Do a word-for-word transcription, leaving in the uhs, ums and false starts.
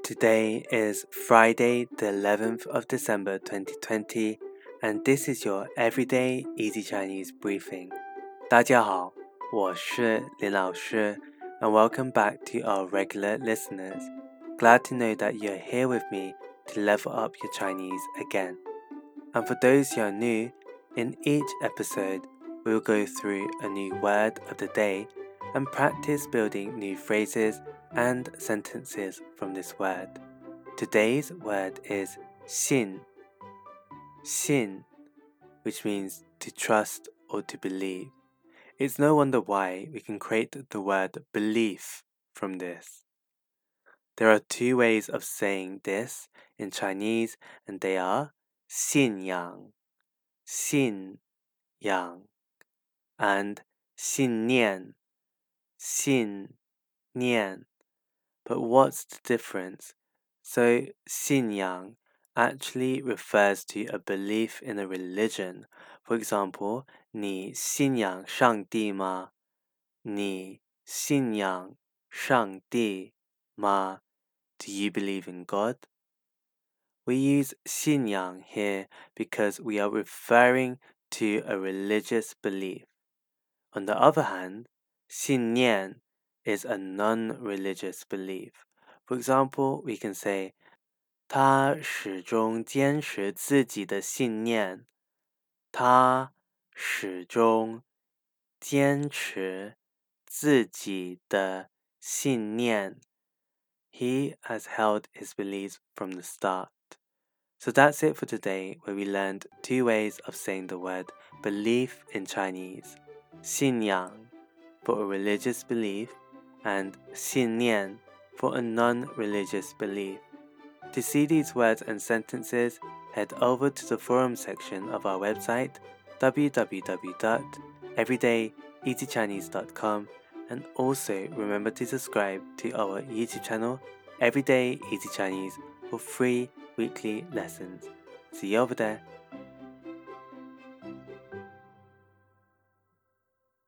Today is Friday, the eleventh of December twenty twenty, and this is your Everyday Easy Chinese briefing. 大家好，我是林老师 and welcome back to our regular listeners. Glad to know that you're here with me to level up your Chinese again. And for those who are new, in each episode, we'll go through a new word of the day and practice building new phrases and sentences from this word. Today's word is 信, 信, which means to trust or to believe. It's no wonder why we can create the word belief from this. There are two ways of saying this in Chinese, and they are 信仰, 信仰, and 信念, 信念. But what's the difference? So 信仰 actually refers to a belief in a religion. For example, 你信仰上帝吗？你信仰上帝吗？ Do you believe in God? We use 信仰 here because we are referring to a religious belief. On the other hand, 信念 is a non-religious belief. For example, we can say 他始终坚持自己的信念。他始终坚持自己的信念。He has held his beliefs from the start. So that's it for today, where we learned two ways of saying the word belief in Chinese. 信仰 for a religious belief and 信念 for a non-religious belief. To see these words and sentences, head over to the forum section of our website w w w dot everyday easy chinese dot com, and also remember to subscribe to our YouTube channel Everyday Easy Chinese for free weekly lessons. See you over there.